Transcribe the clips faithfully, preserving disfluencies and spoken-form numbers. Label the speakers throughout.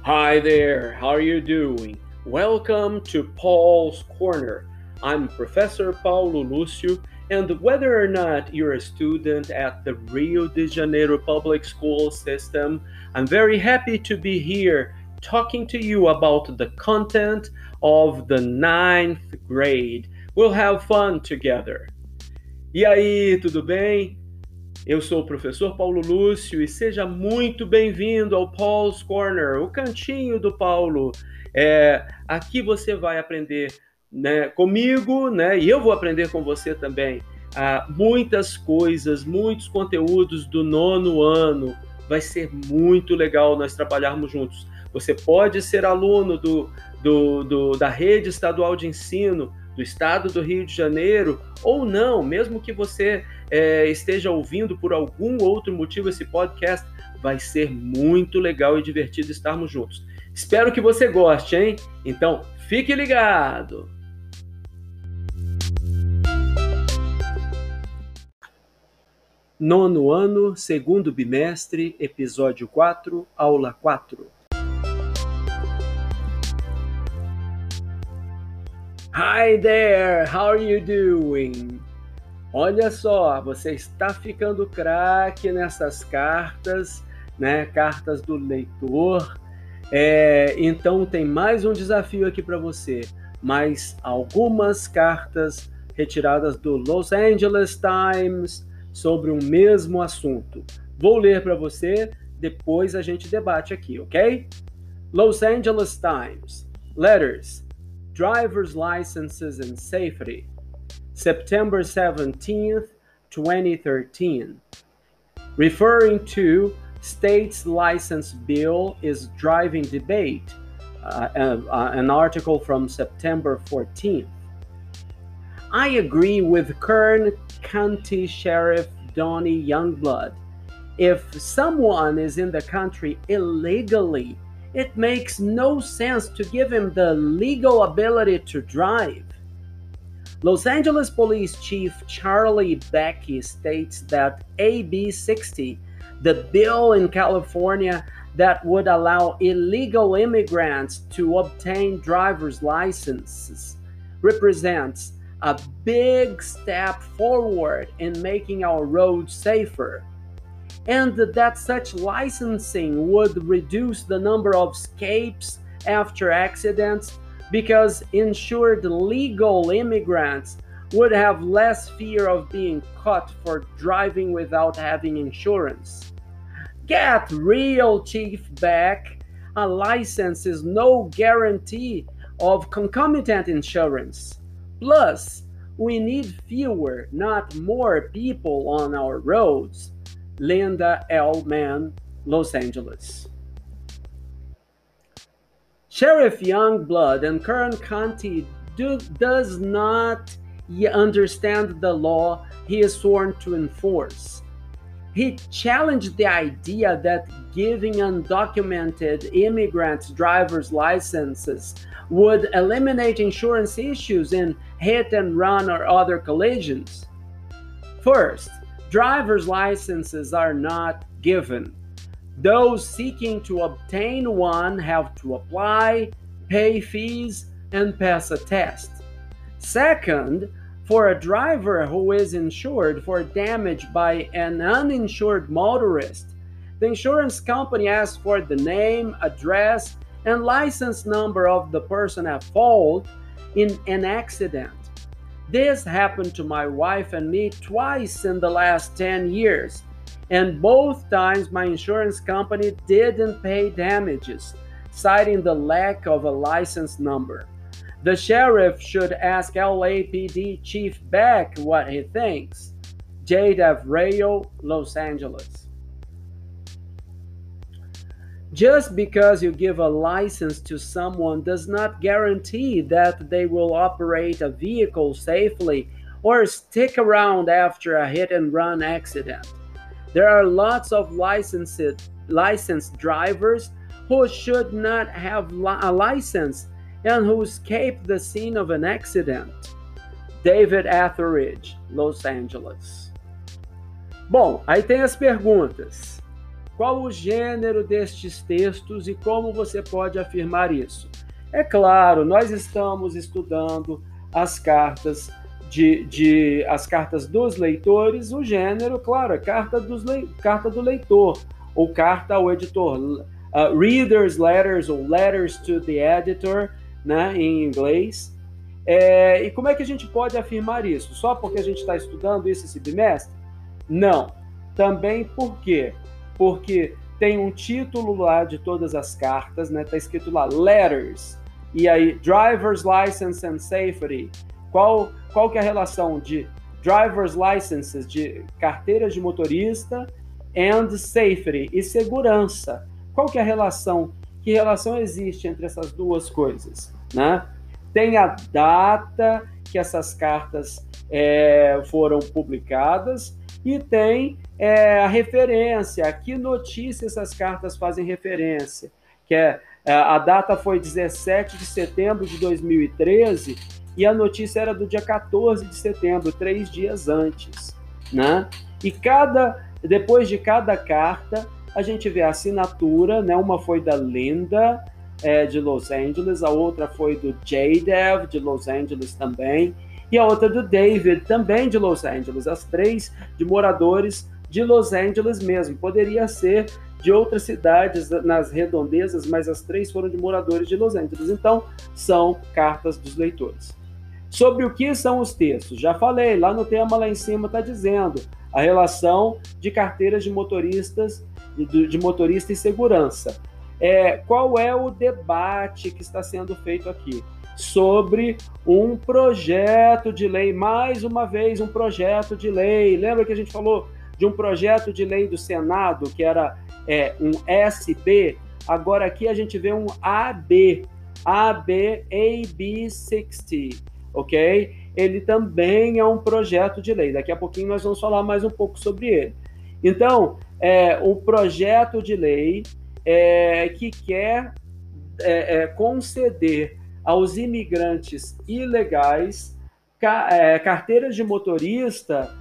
Speaker 1: Hi there, how are you doing? Welcome to Paul's Corner. I'm Professor Paulo Lúcio, and whether or not you're a student at the Rio de Janeiro public school system, I'm very happy to be here talking to you about the content of the ninth grade. We'll have fun together. E aí, tudo bem? Eu sou o professor Paulo Lúcio e seja muito bem-vindo ao Paul's Corner, o cantinho do Paulo. É, aqui você vai aprender, né, comigo, né, e eu vou aprender com você também, ah, muitas coisas, muitos conteúdos do nono ano. Vai ser muito legal nós trabalharmos juntos. Você pode ser aluno do, do, do, da rede estadual de ensino do estado do Rio de Janeiro, ou não, mesmo que você é, esteja ouvindo por algum outro motivo esse podcast, vai ser muito legal e divertido estarmos juntos. Espero que você goste, hein? Então, fique ligado! Nono ano, segundo bimestre, episódio quatro, aula quatro. Hi there, how are you doing? Olha só, você está ficando craque nessas cartas, né? Cartas do leitor. É, então tem mais um desafio aqui para você. Mais algumas cartas retiradas do Los Angeles Times sobre o mesmo assunto. Vou ler para você, depois a gente debate aqui, ok? Los Angeles Times. Letters. Driver's licenses and safety. September seventeenth, twenty thirteen. Referring to state's license bill is driving debate, uh, uh, an article from September fourteenth. I agree with Kern County Sheriff Donnie Youngblood. If someone is in the country illegally, it makes no sense to give him the legal ability to drive. Los Angeles Police Chief Charlie Becky states that A B sixty, the bill in California that would allow illegal immigrants to obtain driver's licenses, represents a big step forward in making our roads safer, and that such licensing would reduce the number of escapes after accidents because insured legal immigrants would have less fear of being caught for driving without having insurance. Get real, Chief Beck. A license is no guarantee of concomitant insurance. Plus, we need fewer, not more people on our roads. Linda L. Mann, Los Angeles. Sheriff Youngblood and Kern County do, does not understand the law he is sworn to enforce. He challenged the idea that giving undocumented immigrants driver's licenses would eliminate insurance issues in hit and run or other collisions. First, driver's licenses are not given. Those seeking to obtain one have to apply, pay fees, and pass a test. Second, for a driver who is insured for damage by an uninsured motorist, the insurance company asks for the name, address, and license number of the person at fault in an accident. This happened to my wife and me twice in the last ten years, and both times my insurance company didn't pay damages, citing the lack of a license number. The sheriff should ask L A P D Chief Beck what he thinks. Jade Avrayo, Los Angeles. Just because you give a license to someone does not guarantee that they will operate a vehicle safely or stick around after a hit-and-run accident. There are lots of licensed, licensed drivers who should not have a license and who escaped the scene of an accident. David Etheridge, Los Angeles. Bom, aí tem as perguntas. qual o gênero destes textos e como você pode afirmar isso? É claro, nós estamos estudando as cartas de, de as cartas dos leitores, o gênero, claro, é carta, dos, carta do leitor, ou carta ao editor, uh, readers letters ou letters to the editor, né, em inglês. É, e como é que a gente pode afirmar isso? Só porque a gente está estudando isso esse bimestre? Não. Também por quê? Porque tem um título lá de todas as cartas, né? Está escrito lá, letters, e aí, driver's license and safety. Qual, qual que é a relação de driver's licenses, de carteiras de motorista, and safety, e segurança? Qual que é a relação? Que relação existe entre essas duas coisas, né? Tem a data que essas cartas é, foram publicadas e tem é, a referência, a que notícia essas cartas fazem referência, que é, a data foi dezessete de setembro de dois mil e treze e a notícia era do dia quatorze de setembro, três dias antes, né? E cada, depois de cada carta, a gente vê a assinatura, né? Uma foi da Linda, é, de Los Angeles, a outra foi do J Dev, de Los Angeles também, e a outra do David, também de Los Angeles, as três de moradores de Los Angeles mesmo. Poderia ser de outras cidades nas redondezas, mas as três foram de moradores de Los Angeles. Então, são cartas dos leitores. Sobre o que são os textos? Já falei, lá no tema lá em cima está dizendo a relação de carteiras de motoristas, de, de motorista e segurança. É, qual é o debate que está sendo feito aqui? Sobre um projeto de lei, mais uma vez um projeto de lei. Lembra que a gente falou de um projeto de lei do Senado, que era é, um S B? Agora aqui a gente vê um A B, A B, A B sessenta, ok? Ele também é um projeto de lei. Daqui a pouquinho nós vamos falar mais um pouco sobre ele. Então, é um projeto de lei é, que quer é, é, conceder aos imigrantes ilegais ca, é, carteiras de motorista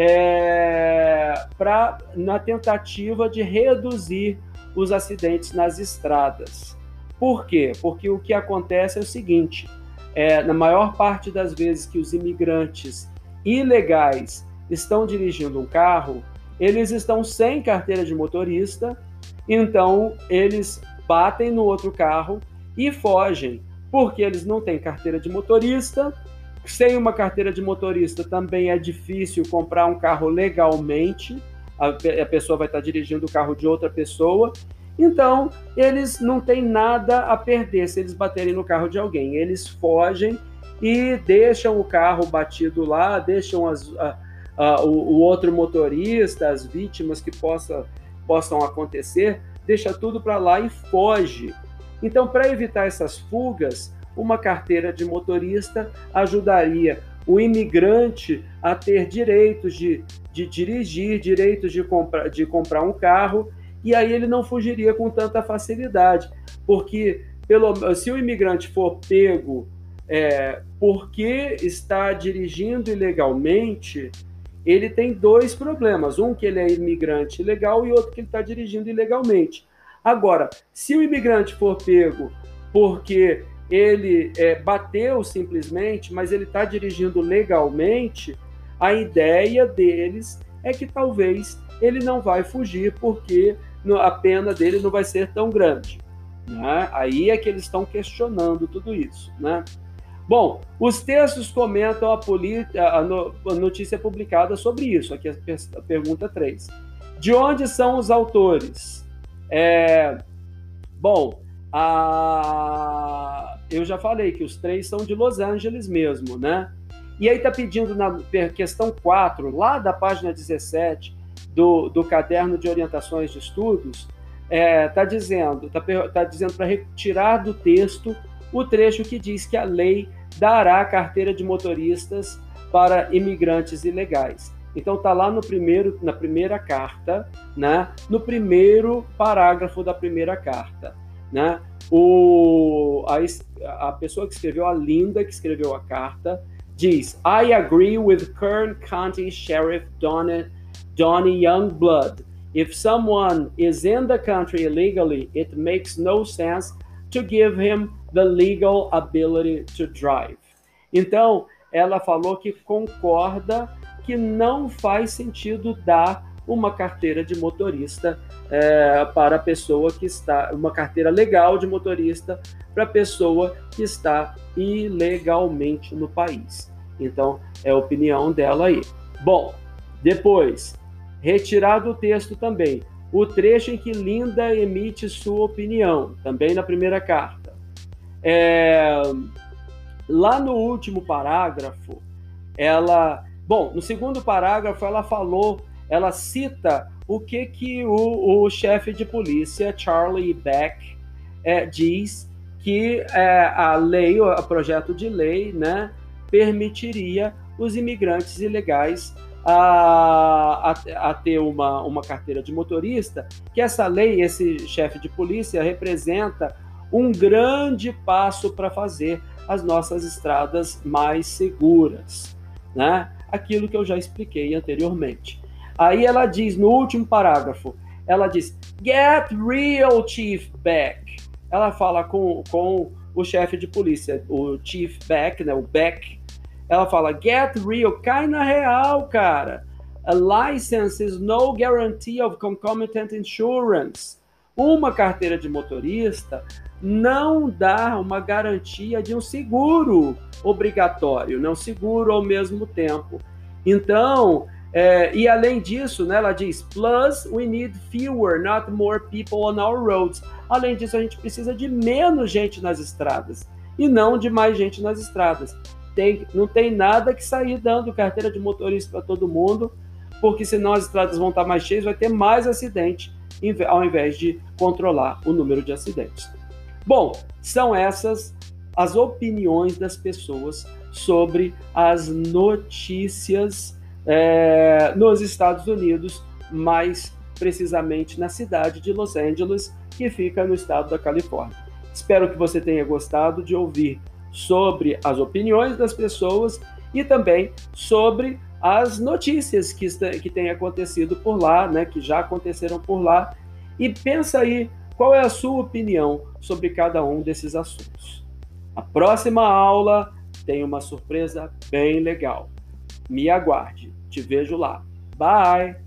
Speaker 1: é, pra, na tentativa de reduzir os acidentes nas estradas. Por quê? Porque o que acontece é o seguinte, é, na maior parte das vezes que os imigrantes ilegais estão dirigindo um carro, eles estão sem carteira de motorista, então eles batem no outro carro e fogem, porque eles não têm carteira de motorista. Sem uma carteira de motorista também é difícil comprar um carro legalmente, a, a pessoa vai estar dirigindo o carro de outra pessoa, então eles não têm nada a perder se eles baterem no carro de alguém, eles fogem e deixam o carro batido lá, deixam as, a, a, o, o outro motorista, as vítimas que possa, possam acontecer, deixa tudo para lá e foge. Então, para evitar essas fugas, uma carteira de motorista ajudaria o imigrante a ter direitos de, de dirigir, direitos de, compra, de comprar um carro, e aí ele não fugiria com tanta facilidade, porque pelo, se o imigrante for pego é, porque está dirigindo ilegalmente, ele tem dois problemas, um que ele é imigrante ilegal e outro que ele está dirigindo ilegalmente. Agora, se o imigrante for pego porque ele é, bateu simplesmente, mas ele está dirigindo legalmente, a ideia deles é que talvez ele não vai fugir porque a pena dele não vai ser tão grande, né? Aí é que eles estão questionando tudo isso, né? Bom, os textos comentam a, a, no, a notícia publicada sobre isso, aqui a, a pergunta três. De onde são os autores? É, bom, a, eu já falei que os três são de Los Angeles mesmo, né? E aí está pedindo na questão quatro, lá da página dezessete do, do caderno de orientações de estudos, está é, dizendo, tá, tá dizendo para retirar do texto o trecho que diz que a lei dará carteira de motoristas para imigrantes ilegais. Então está lá no primeiro, na primeira carta, né? No primeiro parágrafo da primeira carta, né? O, a, a pessoa que escreveu, a Linda, que escreveu a carta, diz: I agree with Kern County Sheriff Donnie, Donnie Youngblood If someone is in the country illegally, it makes no sense to give him the legal ability to drive. Então, ela falou que concorda que não faz sentido dar uma carteira de motorista é, para a pessoa que está, uma carteira legal de motorista para a pessoa que está ilegalmente no país. Então, é a opinião dela aí. Bom, depois, retirado o texto também, o trecho em que Linda emite sua opinião, também na primeira carta. É, lá no último parágrafo, ela... Bom, no segundo parágrafo, ela falou, ela cita o que, que o, o chefe de polícia, Charlie Beck, é, diz que é, a lei, o projeto de lei, né, permitiria os imigrantes ilegais a, a, a ter uma, uma carteira de motorista, que essa lei, esse chefe de polícia, representa um grande passo para fazer as nossas estradas mais seguras, né? Aquilo que eu já expliquei anteriormente. Aí ela diz, no último parágrafo, ela diz, get real, Chief Beck. Ela fala com, com o chefe de polícia, o Chief Beck, né, o Beck. Ela fala, get real, cai na real, cara. A license is no guarantee of concomitant insurance. Uma carteira de motorista não dá uma garantia de um seguro obrigatório, não seguro ao mesmo tempo. Então, é, e além disso, né, ela diz, plus we need fewer, not more people on our roads. Além disso, a gente precisa de menos gente nas estradas e não de mais gente nas estradas. Tem, não tem nada que sair dando carteira de motorista para todo mundo, porque senão as estradas vão estar mais cheias, vai ter mais acidente, ao invés de controlar o número de acidentes. Bom, são essas as opiniões das pessoas sobre as notícias é, nos Estados Unidos, mais precisamente na cidade de Los Angeles, que fica no estado da Califórnia. Espero que você tenha gostado de ouvir sobre as opiniões das pessoas e também sobre as notícias que, que têm acontecido por lá, né, que já aconteceram por lá. E pensa aí, qual é a sua opinião sobre cada um desses assuntos? A próxima aula tem uma surpresa bem legal. Me aguarde. Te vejo lá. Bye!